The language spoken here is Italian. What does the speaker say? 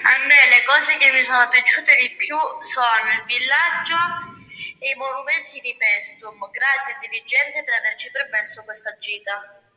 A me le cose che mi sono piaciute di più sono il villaggio e i monumenti di Pestum. Grazie dirigente per averci permesso questa gita.